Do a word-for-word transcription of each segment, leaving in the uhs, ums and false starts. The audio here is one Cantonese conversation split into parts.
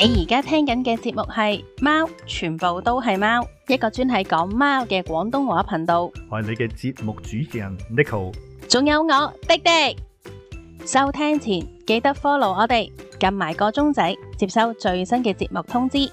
你而家聽緊嘅節目係貓，全部都係貓，一個專係講貓嘅廣東話頻道。 我係你嘅節目主持人 Neko， 仲有我廸廸。收聽前記得 follow 我哋，撳埋個鐘仔，接收最新嘅節目通知。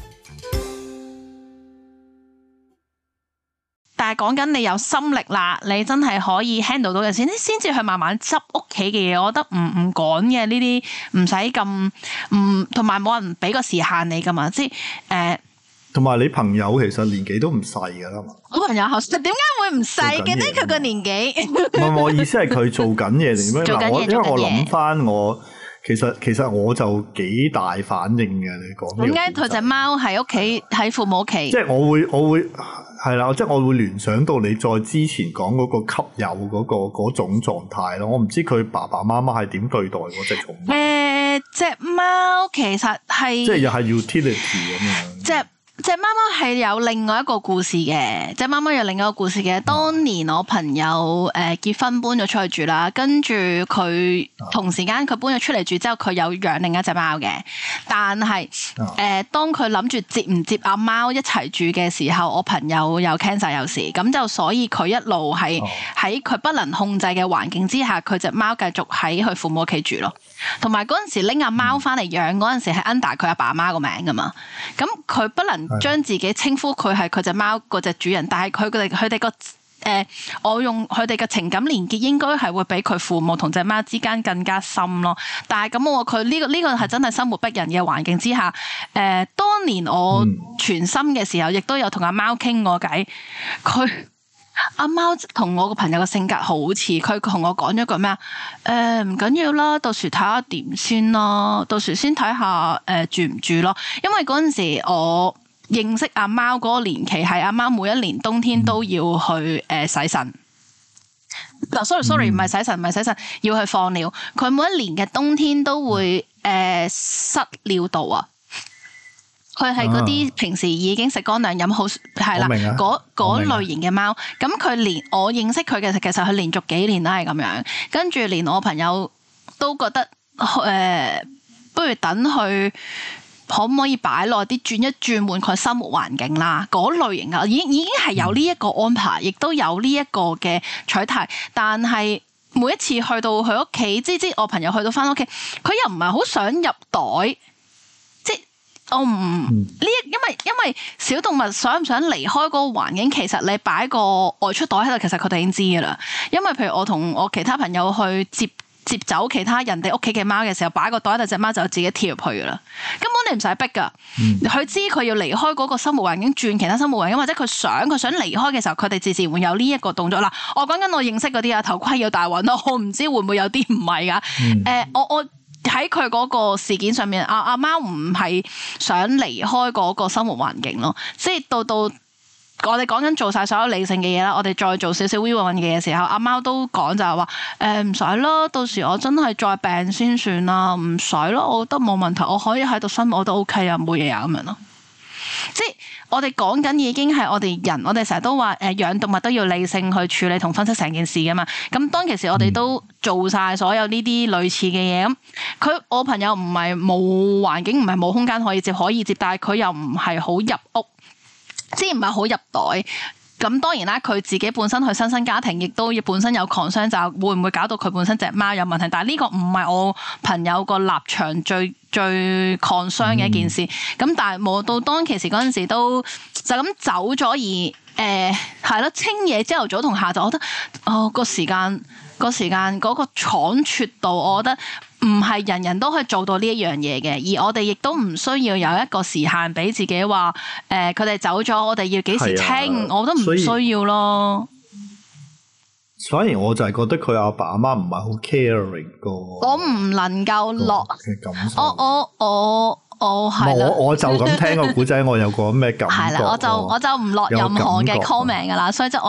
但係講緊你有心力啦，你真係可以 handle 到嘅先，先至去慢慢執屋企嘅嘢。我覺得唔唔趕嘅呢啲，唔使咁唔，同埋冇人俾個時限你噶嘛，即係誒。 同、呃、埋你朋友其實年紀都唔細噶啦嘛。 我朋友後生點解會唔細嘅呢？佢個年紀唔係，我意思係佢做緊嘢定咩？嗱，我因為我諗翻我。其實其實我就幾大反應嘅，你講點解佢隻貓喺屋企喺父母屋企？即係我會我會係啦，即係我會聯想到你再之前講嗰個給友嗰個嗰種狀態咯。我唔知佢爸爸媽媽係點對待嗰隻寵物。誒，隻貓其實係即係又係 utility 咁樣。隻隻貓貓係有另外一個故事嘅，隻貓貓有另外一個故事嘅。當年我朋友誒結婚搬咗出去住啦，跟住佢同時間佢搬咗出嚟住之後，佢有養另一隻貓嘅。但係誒、呃，當佢諗住接唔接阿貓一齊住嘅時候，我朋友有 cancer 有事，咁就所以佢一路係喺佢不能控制嘅環境之下，佢隻貓繼續喺佢父母屋企住咯。同埋嗰陣時拎阿貓翻嚟養嗰陣時係 under 佢阿爸阿媽個名噶嘛，咁佢不能將自己稱呼佢係佢隻貓嗰隻主人，但係佢哋佢哋個誒，我用佢哋嘅情感連結應該係會比佢父母同隻貓之間更加深咯。但係咁我佢呢個呢個係真係生活逼人嘅環境之下，誒、呃，當年我全心嘅時候，亦都有同阿貓傾過偈，佢。阿貓同我個朋友嘅性格好似，佢同我講咗句咩啊？誒，唔緊要啦，到時睇下點先咯，到時先睇下誒住唔住咯。因為嗰陣時我認識阿貓嗰個年期係阿貓每一年冬天都要去誒、呃、洗腎。嗱，sorry sorry，唔係洗腎，唔係洗腎，要去放尿。佢每一年嘅冬天都會誒、呃、塞尿道啊。佢係嗰啲平時已經食乾糧飲好係啦，嗰嗰類型嘅貓。咁佢連我認識佢嘅，其實佢連續幾年都係咁樣。跟住連我朋友都覺得誒、呃，不如等佢可唔可以擺耐啲，轉一轉換佢生活環境啦。嗰類型嘅已經已經係有呢一個安排，亦都有呢一個嘅取態。但係每一次去到佢屋企，即即我朋友去到返屋企，佢又唔係好想入袋。我唔呢，因為因為小動物想唔想離開嗰個環境，其實你擺個外出袋喺度，其實佢哋已經知噶啦。因為譬如我同我其他朋友去接接走其他人哋屋企嘅貓嘅時候，擺個袋喺度，隻貓就自己跳入去噶啦。根本你唔使逼噶，佢、嗯、知佢要離開嗰個生活環境，轉其他生活環境，或者佢想佢想離開嘅時候，佢哋自然會有呢一個動作啦。我講緊我認識嗰啲啊，頭盔要戴穩咯，我唔知會唔會有啲唔係噶。誒、嗯呃，我我。喺佢嗰個事件上面，阿阿貓唔係想離開嗰個生活環境咯，即係到到我哋講緊做晒所有理性嘅嘢啦，我哋再做少少 we want 嘅嘢時候，阿貓都講就係話誒唔使啦，到時我真係再病先算啦，唔使咯，我覺得冇問題，我可以喺度生活我都 OK 啊，冇嘢啊咁樣咯，即係。我哋講緊已經係我哋人，我哋成日都話誒養動物都要理性去處理同分析成件事噶嘛。咁當其時我哋都做晒所有呢啲類似嘅嘢。咁佢我朋友唔係冇環境，唔係冇空間可以接可以接，但係佢又唔係好入屋，即係唔係好入袋。咁當然啦，佢自己本身佢新生家庭，亦都要本身有 concern，就會唔會搞到佢本身隻貓有問題？但係呢個唔係我朋友個立場最最 concern 嘅一件事。咁、嗯、但係冇到當其時嗰陣時都就咁走咗，而誒係咯，清嘢朝頭早同下晝，我覺得哦個時間個時間嗰個倉促度，我覺得。唔係人人都可以做到呢一樣嘢嘅，而我哋亦都唔需要有一個時限俾自己話，誒佢哋走咗，我哋要幾時清，我都唔需要咯。 反而我就係覺得佢阿爸阿媽唔係好 caring 個，我唔能夠落嘅感受。我我我我係啦， 我我就咁聽個古仔，我有個咩感覺？ 係啦，我就我就唔落任何嘅 comment 噶啦，所以即係我又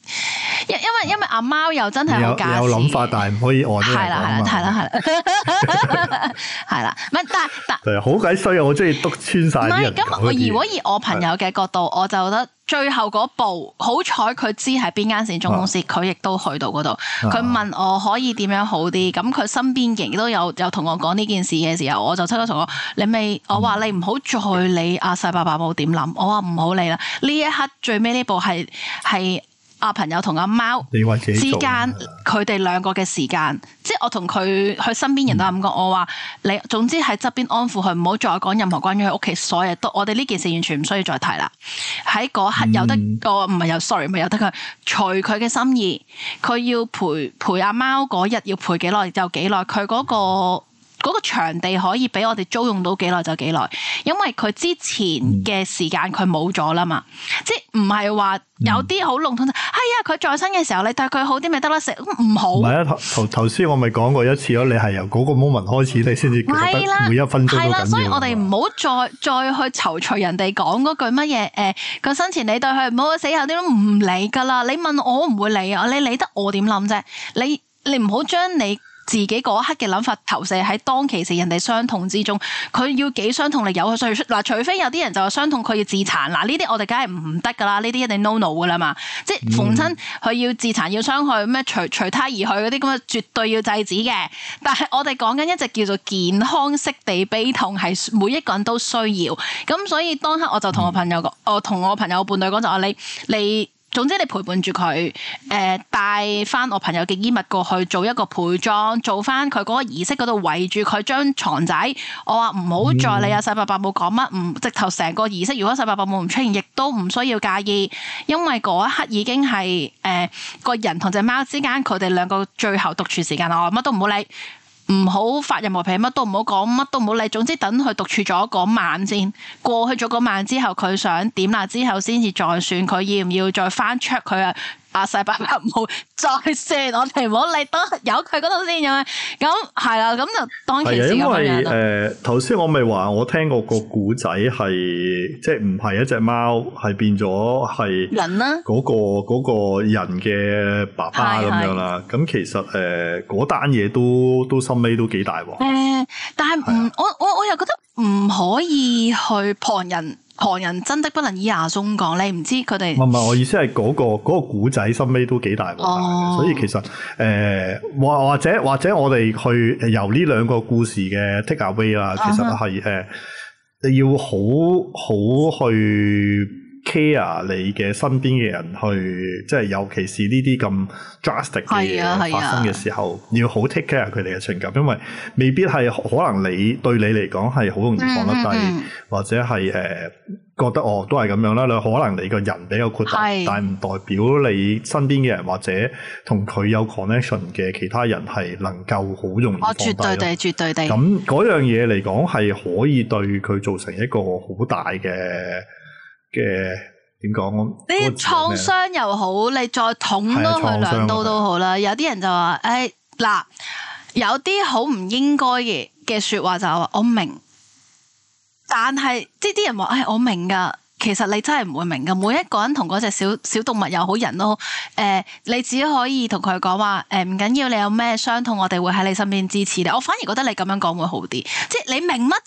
因因為因為阿貓又真係好假， 有諗法，但係唔可以按呢個講嘛。係啦係啦係啦係啦，唔係但但係好鬼衰啊！我中意督穿晒啲人。唔係咁，我如果以我朋友嘅角度，我就覺得最後嗰步，好彩佢知係邊間善終公司，佢亦都去到嗰度。佢問我可以點樣好啲，咁佢身邊嘅亦都有有同我講呢件事嘅時候，我就即刻同我你未，我話你唔好再理阿細伯伯母點諗，我話唔好理啦。呢一刻最尾呢步係係。阿朋友同阿貓之間，佢哋兩個嘅時間，即係我同佢佢身邊人都咁講，我話你總之喺側邊安撫佢，唔好再講任何關於佢屋企所有都，我哋呢件事完全唔需要再提啦。喺嗰刻有得個唔係有 sorry 唔係有得佢隨佢嘅心意，佢要陪陪阿貓嗰日要陪幾耐就幾耐，佢嗰個。嗰個場地可以俾我哋租用到幾耐就幾耐，因為佢之前嘅時間佢冇咗啦嘛，即係唔係話有啲好籠統，係啊佢在生嘅時候你對佢好啲咪得啦，食唔好。唔係啊， 頭頭先我咪講過一次咯，你係由嗰個 moment 開始你先至覺得每一分鐘都緊要。係啦，所以我哋唔好再再去躊躇人哋講嗰句乜嘢誒個生前你對佢唔好，死後啲都唔理㗎啦。你問我唔會理啊，你理得我點諗啫？你你唔好將你自己嗰一刻嘅諗法投射喺當其時人哋傷痛之中，佢要幾傷痛，你由佢衰出嗱，除非有啲人就話傷痛佢要自殘嗱，呢啲我哋梗係唔得噶啦，呢啲一定 no no 噶啦嘛，即係逢親佢要自殘要傷害咩隨隨他而去嗰啲咁啊，絕對要制止嘅。但係我哋講緊一隻叫做健康式地悲痛，係每一個人都需要。咁所以當刻我就同我朋友講，我同我朋友伴侶講就話你你。你總之你陪伴住佢，誒帶翻我朋友嘅衣物過去做一個陪葬，做翻佢嗰個儀式嗰度圍住佢張床仔。我話唔好再理阿細伯伯冇講乜，唔直頭成個儀式。如果細伯伯冇唔出現，亦都唔需要介意，因為嗰一刻已經係誒、呃、個人同隻貓之間佢哋兩個最後獨處時間。我乜都唔好理。唔好發任何脾氣，乜都唔好講，乜都唔好理。總之等佢獨處咗嗰晚先，過去咗嗰晚之後，佢想點啦之後，先至再算佢要唔要再翻 check 佢啊。阿細伯伯冇再算，我哋唔好理，都由佢嗰度先咁樣。咁係啦，咁就當其時咁樣。因為誒頭先我咪話我聽過個古仔係，即係唔係一隻貓，係變咗係人啦。嗰個嗰個人嘅爸爸咁樣啦。咁其實誒嗰單嘢都都心尾都幾大鑊。誒，但係唔我我我又覺得唔可以去旁人。旁人真的不能以牙鬆講，你唔知佢哋。唔係，我意思係嗰、嗰個嗰、嗰個古仔心尾都幾大鑊，哦、所以其實誒或、呃、或者或者我哋去由呢兩個故事嘅 take away 啦，其實係誒你要好好去 care 你嘅身邊嘅人去，即係尤其是呢啲咁 drastic 嘅嘢發生嘅時候，要好 take care 佢哋嘅情感，因為未必係可能你對你嚟講係好容易放得低，嗯嗯、或者係誒、呃、覺得哦都係咁樣啦。你可能你個人比較豁達，是但係唔代表你身邊嘅人或者同佢有 connection 嘅其他人係能夠好容易放低。哦，絕對地，絕對地。咁嗰樣嘢嚟講係可以對佢造成一個好大嘅。嘅點講？你創傷又好，你再捅多佢兩刀都好啦。有啲人就話：誒、哎、嗱，有啲好唔應該嘅嘅説話就話我明，但係即係啲人話：誒、哎、我明㗎。其實你真係唔會明㗎。每一個人同嗰隻小小動物又好，人都好。誒、呃，你只可以同佢講話：誒唔緊要，你有咩傷痛，我哋會喺你身邊支持你。我反而覺得你咁樣講會好啲。即係你明乜啫？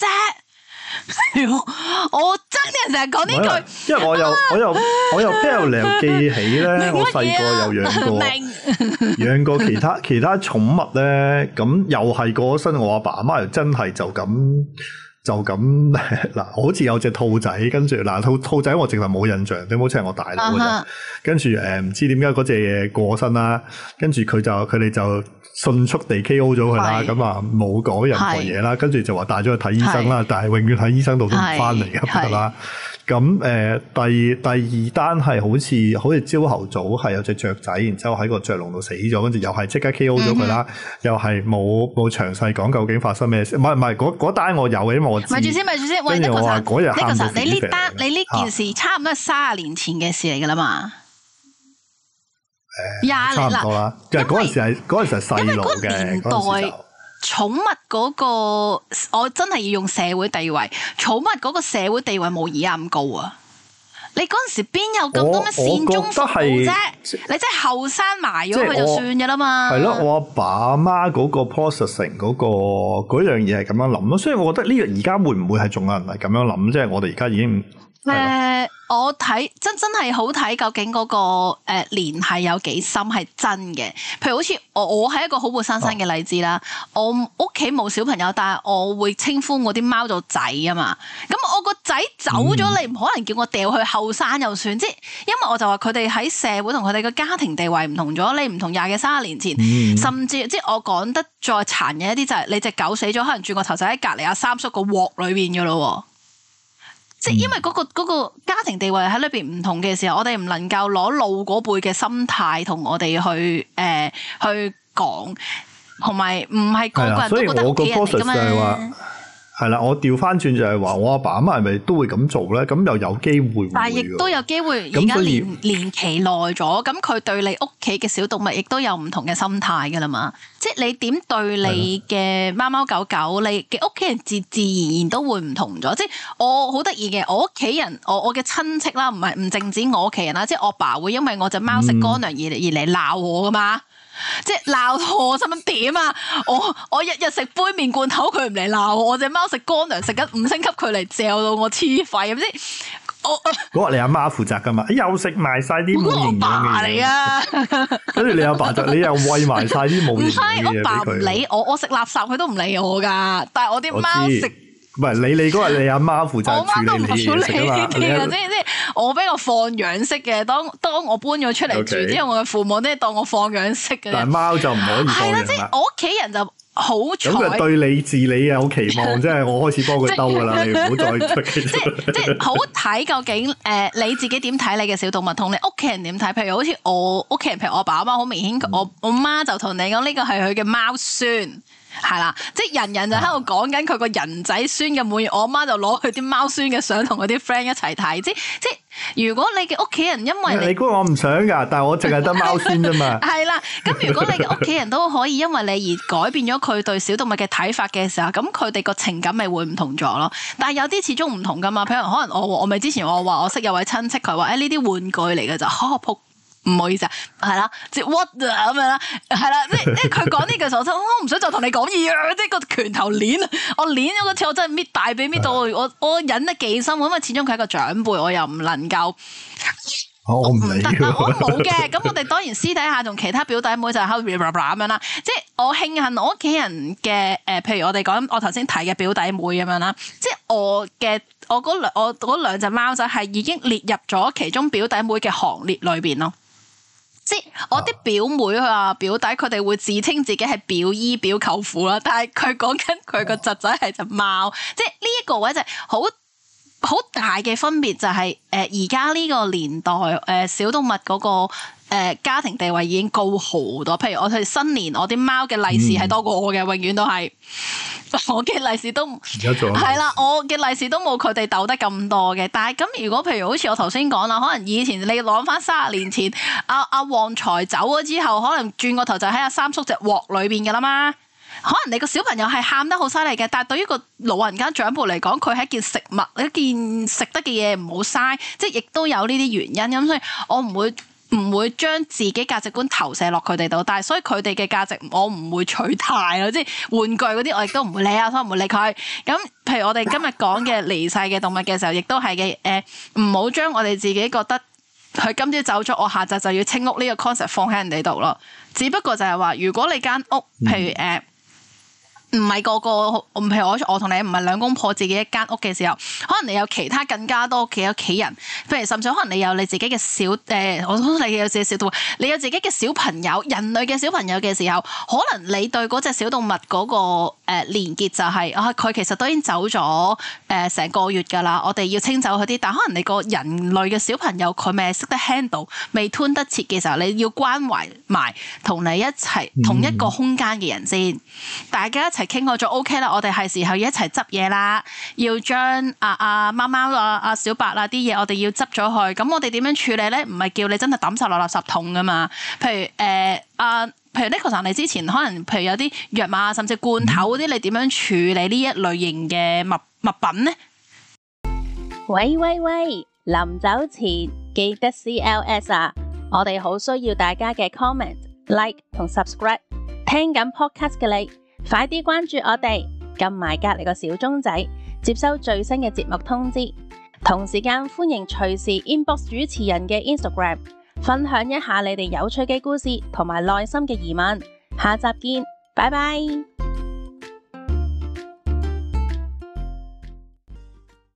我真係成日講呢句，因為我又我又我又邊有理由記起咧？我細個有養過養過其他其他寵物咧，咁又係過咗身。我阿爸阿媽又真係就咁就咁嗱，好似有隻兔仔，跟住嗱兔兔仔我淨係冇印象，你好似係我大佬嗰陣，跟住誒唔知點解嗰隻嘢過身啦，跟住佢就佢哋就迅速地 K O 咗佢啦，咁啊冇講任何嘢啦，跟住就話帶咗去睇醫生啦，是但係永遠喺醫生度都唔翻嚟嘅係啦。咁誒、呃、第第二單係好似好似朝頭早係有隻雀仔，然之後喺個雀籠度死咗，跟住又係即刻 K O 咗佢啦，嗯、哼又係冇冇詳細講究竟發生咩事。唔係唔係嗰嗰單我有嘅，因為我知。咪住先，咪住先。喂，呢個實嗰日喊到死。你呢單你呢件事差唔多係三十年前嘅事嚟㗎啦嘛。誒、呃，差唔多啦。因為嗰陣時係嗰陣時係細路嘅嗰年代。寵物嗰個，我真係要用社會地位。寵物嗰個社會地位冇而家咁高啊！ 你嗰陣時邊有咁多咩善終服務啫？你真係後生埋咗佢就算嘅啦嘛。 係咯，我阿爸阿媽嗰個 processing 嗰、嗰個嗰樣嘢係咁樣諗咯，所以我覺得呢個而家會唔會係仲有人係咁樣諗？即係我哋而家已經。 誒、呃，我睇真真係好睇，究竟嗰、那個誒聯繫有幾深係真嘅。譬如好似我，我係一個好活生生嘅例子啦。哦、我屋企冇小朋友，但係我會稱呼我啲貓做仔啊嘛。咁我個仔走咗，嗯、你唔可能叫我掉去後生又算。即係因為我就話佢哋喺社會同佢哋嘅家庭地位唔同咗，你唔同廿幾三十年前，嗯、甚至即係我講得再殘忍一啲就係你隻狗死咗，可能轉個頭就喺隔離阿三叔個鑊裏邊噶咯。即係因為嗰、嗰個、嗰個家庭地位喺裏邊唔同嘅時候，我哋唔能夠攞老嗰輩嘅心態同我哋去誒、呃、去講，同埋唔係個個人都覺得屋企人嚟噶嘛。 係啦，我調翻轉就係話，我阿爸阿媽係咪都會咁做咧？咁又有機會， 但係亦都有機會。而家年年期耐咗，咁佢對你屋企嘅小動物亦都有唔同嘅心態噶啦嘛。即係你點對你嘅貓貓狗狗，你嘅屋企人自自然然都會唔同咗。即係我好得意嘅，我屋企人，我我嘅親戚啦，唔係唔淨止我屋企人啦，即係我爸會因為我隻貓食乾糧而嚟而嚟鬧我噶嘛。即係鬧我，使乜點啊？我我日日食杯麵罐頭，佢唔嚟鬧我；我隻貓食乾糧，食緊五星級，佢嚟嚼到我黐肺咁先。我嗰個你阿媽負責噶嘛？又食埋晒啲冇營養嘅嘢，跟住你阿爸就你又餵埋晒啲冇營養嘅嘢俾佢。我爸唔理我，我食垃圾佢都唔理我噶。但係我啲貓食。唔係你你嗰日你阿媽負責處理你嘢食啊嘛，即係即係我比較放養式嘅。當當我搬咗出嚟住之後，我嘅父母都係當我放養式嘅。但係貓就唔可以放養啦。係啦，即係我屋企人就好彩。咁佢對你治理有期望，即係我開始幫佢兜噶啦，你唔好再出奇。即係即係好睇究竟誒你自己點睇你嘅小動物，同你屋企人點睇？譬如好似我屋企人，譬如我爸阿媽，好明顯，我我媽就同你講呢個係佢嘅貓孫。係啦，即係人人就喺度講緊佢個人仔孫嘅滿意，我阿媽就攞佢啲貓孫嘅相同佢啲 friend 一齊睇，即即如果你嘅屋企人因為你，你估我唔想㗎，但係我淨係得貓孫啫嘛。係啦，咁如果你嘅屋企人都可以因為你而改變咗佢對小動物嘅睇法嘅時候，咁佢哋個情感咪會唔同咗咯。但係有啲始終唔同㗎嘛，譬如可能我我咪之前我話我識有位親戚，佢話誒呢啲玩具嚟嘅就呵撲。唔好意思啊，係啦，即係 what 咁樣啦，係啦，即係即係佢講呢句時候，我唔想再同你講嘢啊！即係個拳頭鏈啊，我鏈咗個次，我真係搣大髀搣到我，我我忍得幾深，因為始終佢係一個長輩，我又唔能夠，我唔得啊，我冇嘅。咁我哋當然私底下同其他表弟妹就喺度咁樣啦。即係我慶幸我屋企人嘅誒，譬如我哋講我頭先提嘅表弟妹咁樣啦，即係我嘅我嗰兩我嗰兩隻貓仔係已經列入咗其中表弟妹嘅行列裏邊咯。即係我啲表妹啊表弟，佢哋會自稱自己係表姨表舅父啦，但係佢講緊佢個侄仔係隻貓，即係呢一個位就係好好大嘅分別，就係誒而家呢個年代誒、呃、小動物嗰、嗰個誒、呃、家庭地位已經高好多。譬如我哋新年，我啲貓嘅利是係多過我嘅，嗯、永遠都係。我嘅利是都係啦，我嘅利是都冇佢哋鬥得咁多嘅。但係咁，如果譬如好似我頭先講啦，可能以前你攞翻三十年前，阿阿旺財走咗之後，可能轉個頭就喺阿三叔隻鑊裏邊噶啦嘛。可能你個小朋友係喊得好犀利嘅，但係對於個老人家長輩嚟講，佢係一件食物，一件食得嘅嘢唔好嘥，即係亦都有呢啲原因。咁所以我唔會。唔會將自己價值觀投射落佢哋度，但係所以佢哋嘅價值我唔會取態咯，即係玩具嗰啲我亦都唔會理啊，所以唔會理佢。咁譬如我哋今日講嘅離世嘅動物嘅時候，亦都係嘅，誒唔好將我哋自己覺得佢今朝走咗，我下晝就要清屋呢個 concept 放喺人哋度咯。只不過就係話，如果你間屋，譬如誒。呃唔係個個，譬如我我同你唔係兩公婆自己一間屋嘅時候，可能你有其他更加多嘅屋企人，譬如甚至可能你有你自己嘅小誒、呃，我諗你有自己小動物，你有自己嘅小朋友，人類嘅小朋友嘅時候，可能你對嗰隻小動物嗰、那個誒、呃、連結就係、是、啊，佢其實都已經走咗誒成個月㗎啦，我哋要清走佢啲，但可能你個人類嘅小朋友佢未識得 handle，未吞得切嘅時候，你要關懷埋同你一齊同一個空間嘅人先，嗯、大家一齊傾過咗 OK 啦，我哋係時候要一齊執嘢啦，要將阿阿貓貓啊、阿小白啊啲嘢，我哋要執咗去。咁我哋點樣處理咧？唔係叫你真係抌晒落垃圾桶噶嘛。譬如誒阿、呃，譬如 Neko 你之前可能譬如有啲藥物甚至罐頭嗰啲，你點樣處理呢一類型嘅物物品咧？ 喂喂喂， 臨走前記得 C L S 啊！我哋好需要大家嘅 comment、like 同 subscribe。聽緊 podcast 嘅你，快啲關注我哋，撳埋隔籬個小鐘仔，接收最新嘅節目通知。同時間歡迎隨時 inbox 主持人嘅 Instagram， 分享一下你哋有趣嘅故事同埋內心嘅疑問。下集見，拜拜。